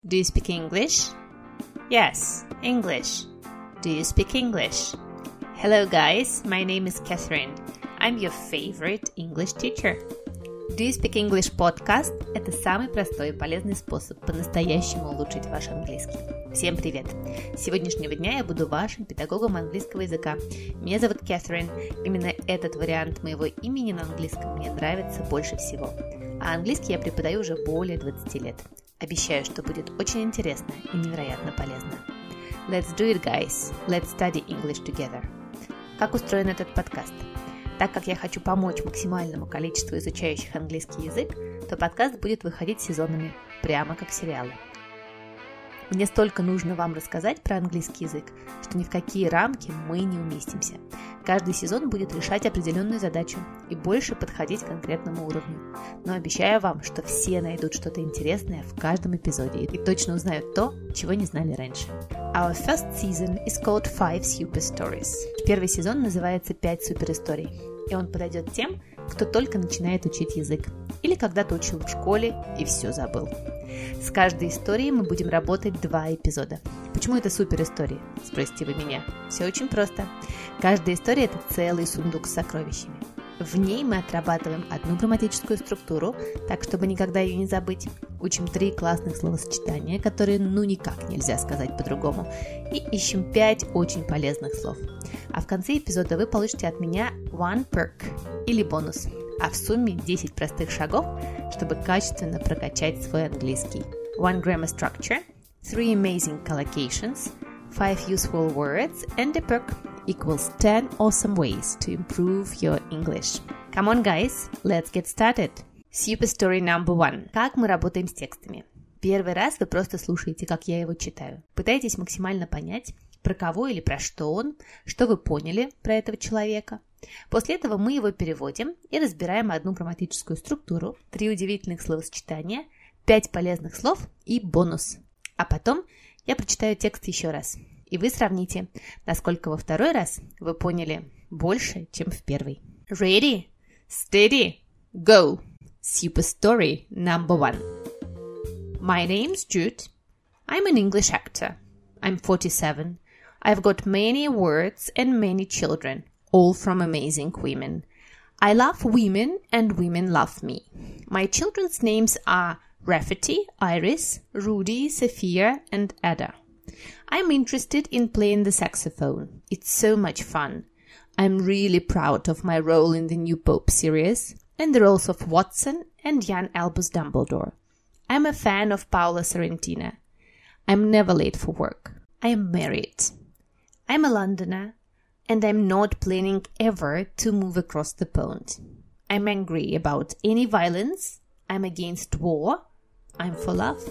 Do you speak English? Yes, English. Do you speak English? Hello guys, my name is Catherine. I'm your favorite English teacher. Do you speak English podcast – это самый простой и полезный способ по-настоящему улучшить ваш английский. Всем привет! С сегодняшнего дня я буду вашим педагогом английского языка. Меня зовут Catherine. Именно этот вариант моего имени на английском мне нравится больше всего. А английский я преподаю уже более 20 лет. Обещаю, что будет очень интересно и невероятно полезно. Let's do it, guys. Let's study English together. Как устроен этот подкаст? Так как я хочу помочь максимальному количеству изучающих английский язык, то подкаст будет выходить сезонами, прямо как сериалы. Мне столько нужно вам рассказать про английский язык, что ни в какие рамки мы не уместимся. Каждый сезон будет решать определенную задачу и больше подходить к конкретному уровню. Но обещаю вам, что все найдут что-то интересное в каждом эпизоде и точно узнают то, чего не знали раньше. Our first season is called 5 Super Stories. Первый сезон называется 5 суперисторий, и он подойдет тем, кто только начинает учить язык или когда-то учил в школе и все забыл. С каждой историей мы будем работать 2 эпизода. Почему это суперистории? Спросите вы меня. Все очень просто. Каждая история – это целый сундук с сокровищами. В ней мы отрабатываем одну грамматическую структуру, так, чтобы никогда ее не забыть. Учим 3 классных словосочетания, которые никак нельзя сказать по-другому. И ищем 5 очень полезных слов. А в конце эпизода вы получите от меня one perk или бонус. А в сумме 10 простых шагов, чтобы качественно прокачать свой английский. One grammar structure, 3 amazing collocations, 5 useful words and a perk equals 10 awesome ways to improve your English. Come on, guys, let's get started. Super story number 1. Как мы работаем с текстами? Первый раз вы просто слушаете, как я его читаю. Пытаетесь максимально понять, про кого или про что он, что вы поняли про этого человека. После этого мы его переводим и разбираем одну грамматическую структуру, 3 удивительных словосочетания, 5 полезных слов и бонус. А потом я прочитаю текст еще раз. И вы сравните, насколько во второй раз вы поняли больше, чем в первый. Ready, steady, go! Super story number 1. My name's Jude. I'm an English actor. I'm 47. I've got many awards and many children, all from amazing women. I love women and women love me. My children's names are Rafferty, Iris, Rudy, Sophia and Ada. I'm interested in playing the saxophone. It's so much fun. I'm really proud of my role in the new Pope series and the roles of Watson and Jan Albus Dumbledore. I'm a fan of Paolo Sorrentino. I'm never late for work. I am married. I'm a Londoner and I'm not planning ever to move across the pond. I'm angry about any violence. I'm against war. I'm for love.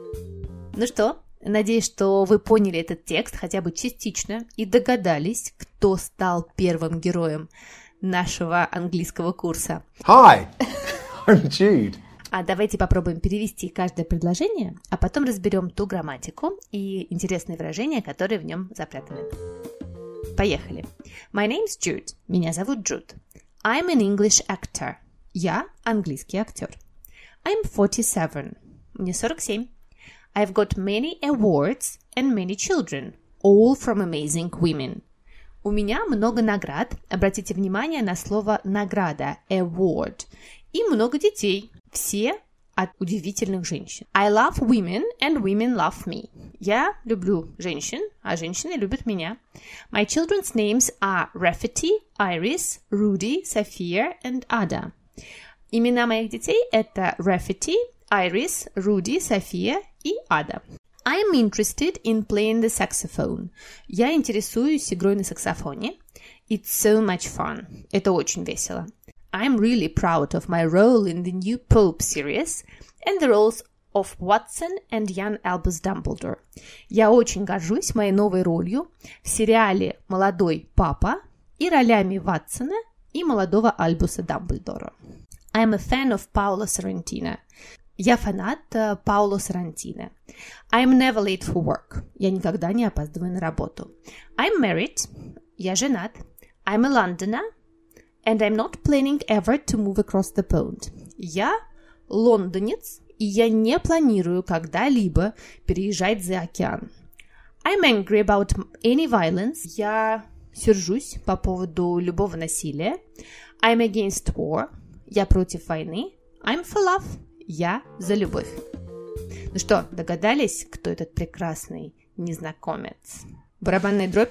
Ну что? Надеюсь, что вы поняли этот текст хотя бы частично и догадались, кто стал первым героем нашего английского курса. Hi, I'm Jude. А давайте попробуем перевести каждое предложение, а потом разберем ту грамматику и интересные выражения, которые в нем запрятаны. Поехали. My name's Jude. Меня зовут Джуд. I'm an English actor. Я английский актер. I'm 47. Мне 47. I've got many awards and many children, all from amazing women. У меня много наград. Обратите внимание на слово награда, award. И много детей. Все от удивительных женщин. I love women and women love me. Я люблю женщин, а женщины любят меня. My children's names are Rafferty, Iris, Rudy, Sophia and Ada. Имена моих детей это Rafferty, Iris, Rudy, Sophia и Ada. I'm interested in playing the saxophone. Я интересуюсь игрой на саксофоне. It's so much fun. Это очень весело. I'm really proud of my role in the new Pope series and the roles of Watson and Jan Albus Dumbledore. Я очень горжусь моей новой ролью в сериале «Молодой папа» и ролями Ватсона и молодого Альбуса Дамблдора. I'm a fan of Paolo Sorrentino. Я фанат Паоло Соррентино. I'm never late for work. Я никогда не опаздываю на работу. I'm married. Я женат. I'm a Londoner. And I'm not planning ever to move across the pond. Я лондонец и я не планирую когда-либо переезжать за океан. I'm angry about any violence. Я сержусь по поводу любого насилия. I'm against war. Я против войны. I'm for love. Я за любовь. Ну что, догадались, кто этот прекрасный незнакомец? Барабанная дробь?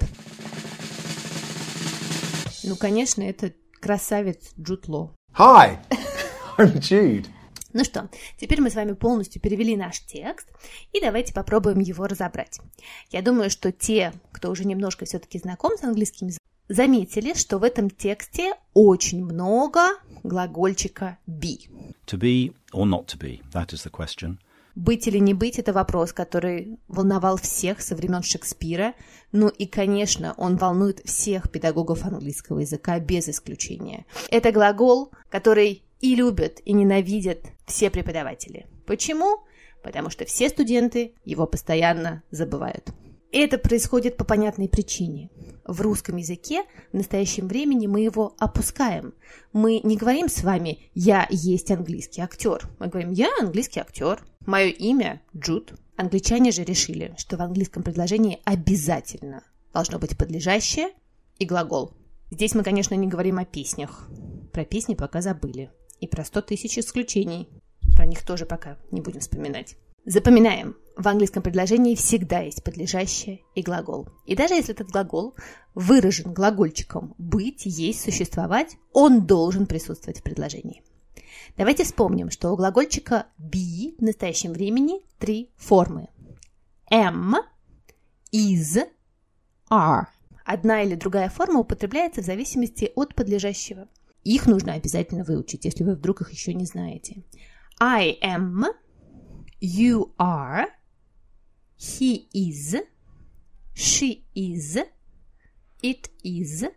Ну, конечно, это красавец Джуд Лоу. Hi, I'm Jude. Ну что, теперь мы с вами полностью перевели наш текст, и давайте попробуем его разобрать. Я думаю, что те, кто уже немножко все-таки знаком с английским языком, заметили, что в этом тексте очень много глагольчика be. To be or not to be, that is the question. Быть или не быть – это вопрос, который волновал всех со времен Шекспира. Ну и, конечно, он волнует всех педагогов английского языка без исключения. Это глагол, который и любят, и ненавидят все преподаватели. Почему? Потому что все студенты его постоянно забывают. И это происходит по понятной причине. В русском языке в настоящем времени мы его опускаем. Мы не говорим с вами «я есть английский актер». Мы говорим «я английский актер». Мое имя Джуд. Англичане же решили, что в английском предложении обязательно должно быть подлежащее и глагол. Здесь мы, конечно, не говорим о песнях. Про песни пока забыли. И про 100 тысяч исключений. Про них тоже пока не будем вспоминать. Запоминаем, в английском предложении всегда есть подлежащее и глагол. И даже если этот глагол выражен глагольчиком «быть», «есть», «существовать», он должен присутствовать в предложении. Давайте вспомним, что у глагольчика be в настоящем времени 3 формы. Am, is, are. Одна или другая форма употребляется в зависимости от подлежащего. Их нужно обязательно выучить, если вы вдруг их еще не знаете. I am, you are, he is, she is, it is,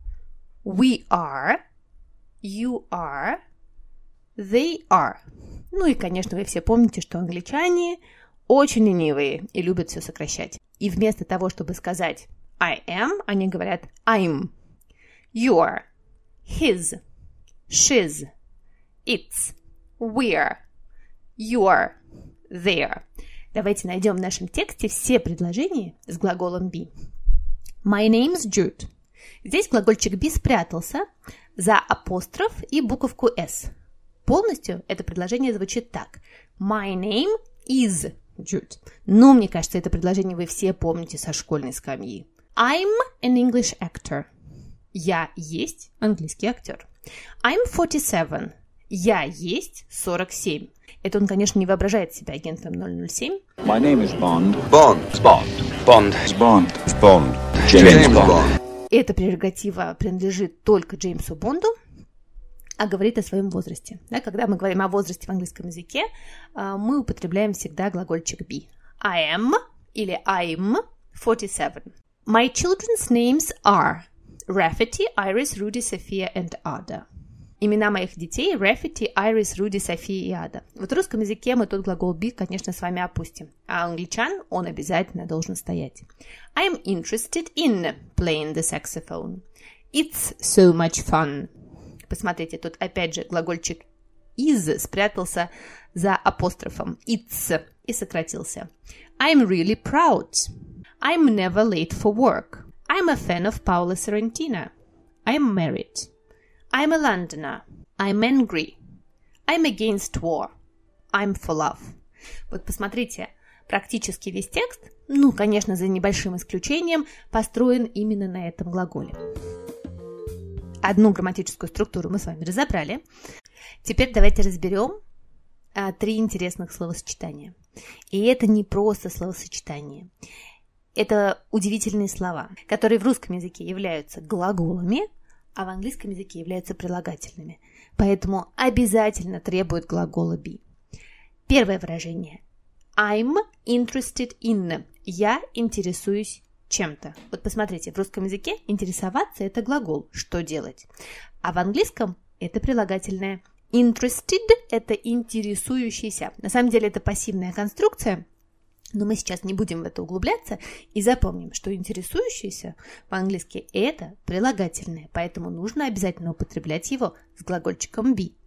we are, you are, they are. Ну и, конечно, вы все помните, что англичане очень ленивые и любят все сокращать. И вместо того, чтобы сказать I am, они говорят I'm, your, his, she's, it's, we're, your, their. Давайте найдем в нашем тексте все предложения с глаголом be. My name's Jude. Здесь глагольчик be спрятался за апостроф и буковку s. Полностью это предложение звучит так. My name is Jude. Ну, мне кажется, это предложение вы все помните со школьной скамьи. I'm an English actor. Я есть английский актер. I'm 47. Я есть 47. Это он, конечно, не воображает себя агентом 007. My name is Bond. Bond. Bond. Bond. Bond. Bond. James Bond. Эта прерогатива принадлежит только Джеймсу Бонду, а говорит о своем возрасте. Да, когда мы говорим о возрасте в английском языке, мы употребляем всегда глагольчик be. I am или I'm 47. My children's names are Rafferty, Iris, Rudy, София and Ada. Имена моих детей Rafferty, Iris, Rudy, София и Ada. Вот в русском языке мы тот глагол be, конечно, с вами опустим. А у англичан он обязательно должен стоять. I'm interested in playing the saxophone. It's so much fun. Посмотрите, тут опять же глагольчик is спрятался за апострофом it's и сократился. I'm really proud. I'm never late for work. I'm a fan of Paolo Sorrentino. I'm married. I'm a Londoner. I'm angry. I'm against war. I'm for love. Вот посмотрите, практически весь текст, ну, конечно, за небольшим исключением, построен именно на этом глаголе. Одну грамматическую структуру мы с вами разобрали. Теперь давайте разберем 3 интересных словосочетания. И это не просто словосочетания. Это удивительные слова, которые в русском языке являются глаголами, а в английском языке являются прилагательными. Поэтому обязательно требуют глагола be. Первое выражение. I'm interested in. Я интересуюсь чем-то. Вот посмотрите, в русском языке интересоваться – это глагол «что делать», а в английском это прилагательное. Interested – это интересующийся. На самом деле это пассивная конструкция, но мы сейчас не будем в это углубляться и запомним, что интересующийся по-английски – это прилагательное, поэтому нужно обязательно употреблять его с глагольчиком be.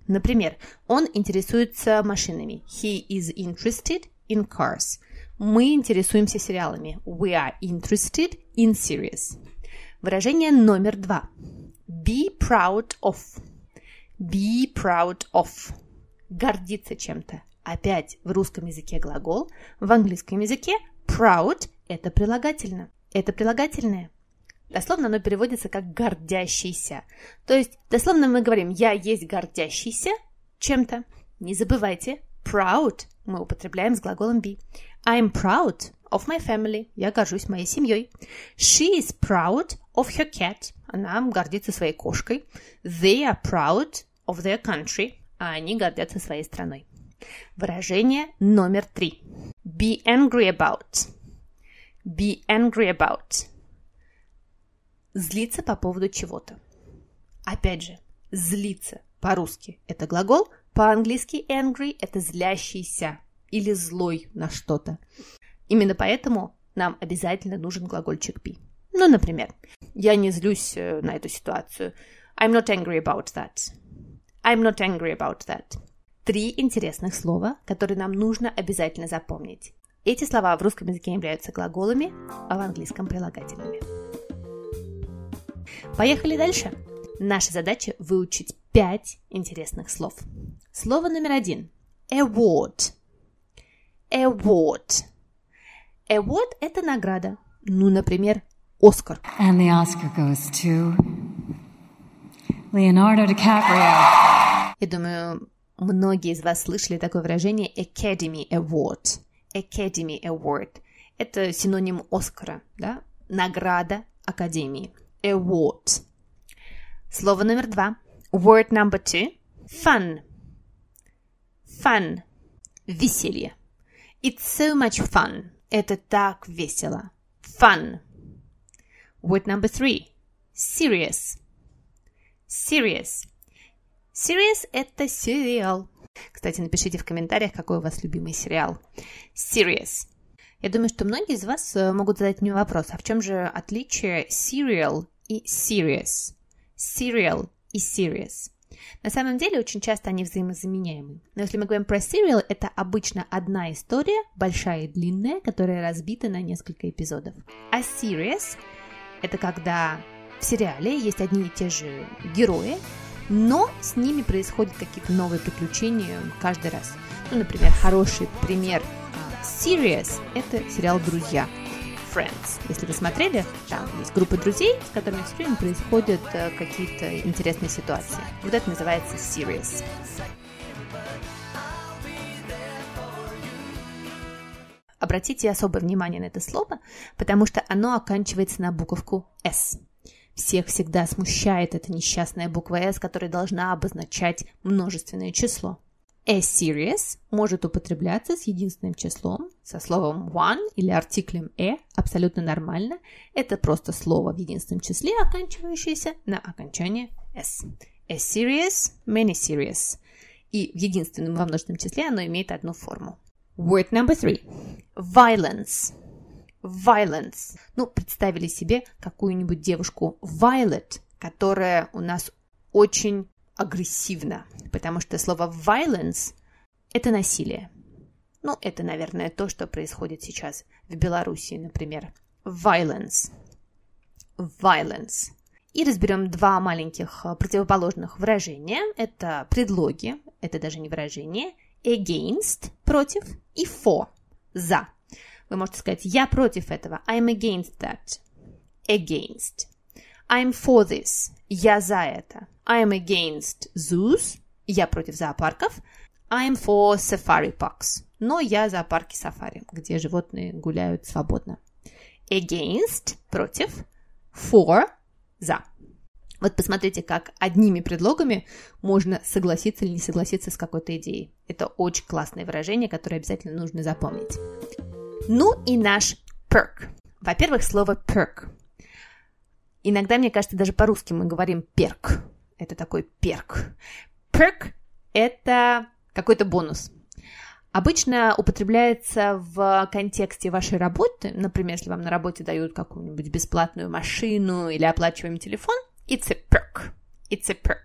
Например, он интересуется машинами. He is interested in cars. Мы интересуемся сериалами. We are interested in series. Выражение номер 2. Be proud of. Be proud of. Гордиться чем-то. Опять в русском языке глагол, в английском языке proud – это прилагательное. Это прилагательное. Дословно оно переводится как гордящийся. То есть дословно мы говорим «я есть гордящийся чем-то». Не забывайте, proud мы употребляем с глаголом be. I'm proud of my family. Я горжусь моей семьей. She is proud of her cat. Она гордится своей кошкой. They are proud of their country. А они гордятся своей страной. Выражение номер 3. Be angry about. Be angry about. Злиться по поводу чего-то. Опять же, злиться по-русски – это глагол, по-английски angry – это злящийся или злой на что-то. Именно поэтому нам обязательно нужен глагольчик be. Ну, например, я не злюсь на эту ситуацию. I'm not angry about that. I'm not angry about that. 3 интересных слова, которые нам нужно обязательно запомнить. Эти слова в русском языке являются глаголами, а в английском прилагательными. Поехали дальше. Наша задача выучить 5 интересных слов. Слово номер 1. Award. Award. Award – это награда. Ну, например, Оскар. And the Oscar goes to Leonardo DiCaprio. Я думаю, многие из вас слышали такое выражение Academy Award. Academy Award. Это синоним Оскара, да? Награда Академии. Award. Слово номер 2. Word number 2. Fun. Fun. Веселье. It's so much fun. Это так весело. Fun. Word number 3. Serious. Serious. Serious – это сериал. Кстати, напишите в комментариях, какой у вас любимый сериал. Serious. Я думаю, что многие из вас могут задать мне вопрос, а в чем же отличие serial и serious? Serial и serious. На самом деле, очень часто они взаимозаменяемы. Но если мы говорим про serial, это обычно одна история, большая и длинная, которая разбита на несколько эпизодов. А serious – это когда в сериале есть одни и те же герои, но с ними происходят какие-то новые приключения каждый раз. Ну, например, хороший пример Serious – это сериал «Друзья». Friends. Если вы смотрели, там есть группа друзей, с которыми все время происходят какие-то интересные ситуации. Вот это называется Serious. Обратите особое внимание на это слово, потому что оно оканчивается на буковку S. Всех всегда смущает эта несчастная буква S, которая должна обозначать множественное число. A serious может употребляться с единственным числом, со словом one или артиклем a, абсолютно нормально. Это просто слово в единственном числе, оканчивающееся на окончание s. A serious, many serious. И в единственном во множественном числе оно имеет одну форму. Word number 3. Violence. Violence. Ну, представили себе какую-нибудь девушку Violet, которая у нас очень агрессивна, потому что слово violence – это насилие. Ну, это, наверное, то, что происходит сейчас в Беларуси, например. Violence. Violence. И разберем 2 маленьких противоположных выражения. Это предлоги, это даже не выражение. Against – против, и for – за. Вы можете сказать «я против этого». I'm against that. Against. I'm for this. Я за это. I'm against zoos. Я против зоопарков. I'm for safari parks. Но я за парки сафари, где животные гуляют свободно. Against – против. For – за. Вот посмотрите, как одними предлогами можно согласиться или не согласиться с какой-то идеей. Это очень классное выражение, которое обязательно нужно запомнить. Ну и наш perk. Во-первых, слово perk. Иногда, мне кажется, даже по-русски мы говорим перк. Это такой перк. Perk – это какой-то бонус. Обычно употребляется в контексте вашей работы. Например, если вам на работе дают какую-нибудь бесплатную машину или оплачиваемый телефон. It's a perk. It's a perk.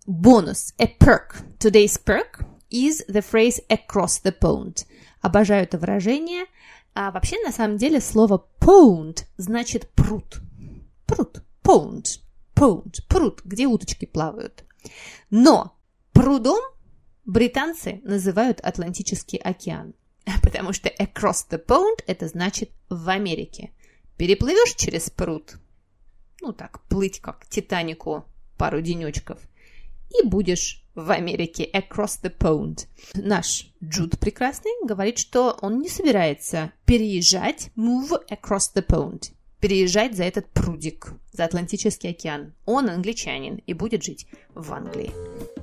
Бонус. A perk. Today's perk is the phrase across the pond. Обожаю это выражение. А вообще, на самом деле, слово pond значит пруд. Пруд. Pond. Pond. Пруд, где уточки плавают. Но прудом британцы называют Атлантический океан. Потому что across the pond это значит в Америке. Переплывешь через пруд, ну так, плыть как Титанику пару денечков, и будешь в Америке across the pond. Наш Джуд прекрасный говорит, что он не собирается переезжать, move across the pond, переезжать за этот прудик, за Атлантический океан. Он англичанин и будет жить в Англии.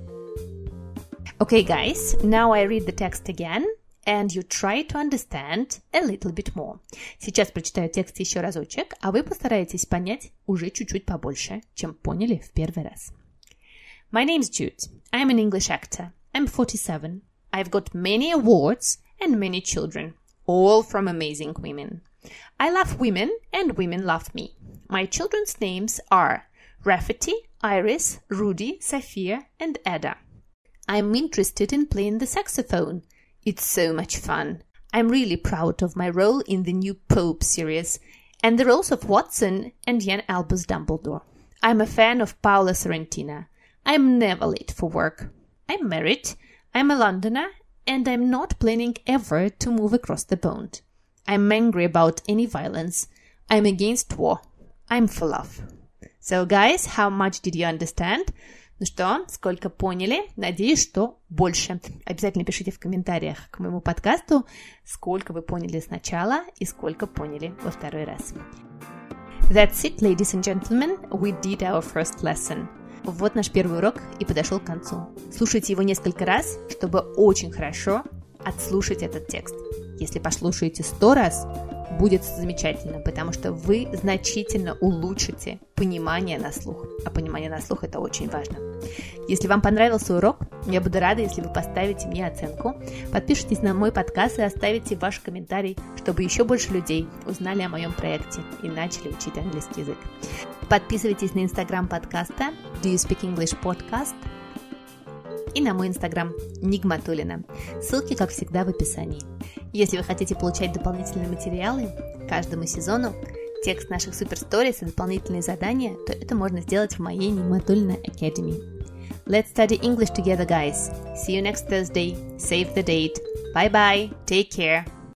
Okay, guys, now I read the text again. And you try to understand a little bit more. Сейчас прочитаю текст еще разочек, а вы постараетесь понять уже чуть-чуть побольше, чем поняли в первый раз. My name's Jude. I'm an English actor. I'm 47. I've got many awards and many children, all from amazing women. I love women and women love me. My children's names are Rafferty, Iris, Rudy, Sophia, and Ada. I'm interested in playing the saxophone. It's so much fun. I'm really proud of my role in the new Pope series and the roles of Watson and Jan Albus Dumbledore. I'm a fan of Paolo Sorrentino. I'm never late for work. I'm married, I'm a Londoner, and I'm not planning ever to move across the pond. I'm angry about any violence. I'm against war. I'm for love. So, guys, how much did you understand? Ну что, сколько поняли? Надеюсь, что больше. Обязательно пишите в комментариях к моему подкасту, сколько вы поняли сначала и сколько поняли во второй раз. That's it, ladies and gentlemen. We did our first lesson. Вот наш первый урок и подошел к концу. Слушайте его несколько раз, чтобы очень хорошо отслушать этот текст. Если послушаете 100 раз, будет замечательно, потому что вы значительно улучшите понимание на слух. А понимание на слух – это очень важно. Если вам понравился урок, я буду рада, если вы поставите мне оценку, подпишитесь на мой подкаст и оставите ваш комментарий, чтобы еще больше людей узнали о моем проекте и начали учить английский язык. Подписывайтесь на инстаграм подкаста Do You Speak English Podcast и на мой инстаграм Нигматуллина. Ссылки, как всегда, в описании. Если вы хотите получать дополнительные материалы к каждому сезону, текст наших суперсторис и дополнительные задания, то это можно сделать в моей Нигматуллина Academy. Let's study English together, guys. See you next Thursday. Save the date. Bye-bye. Take care.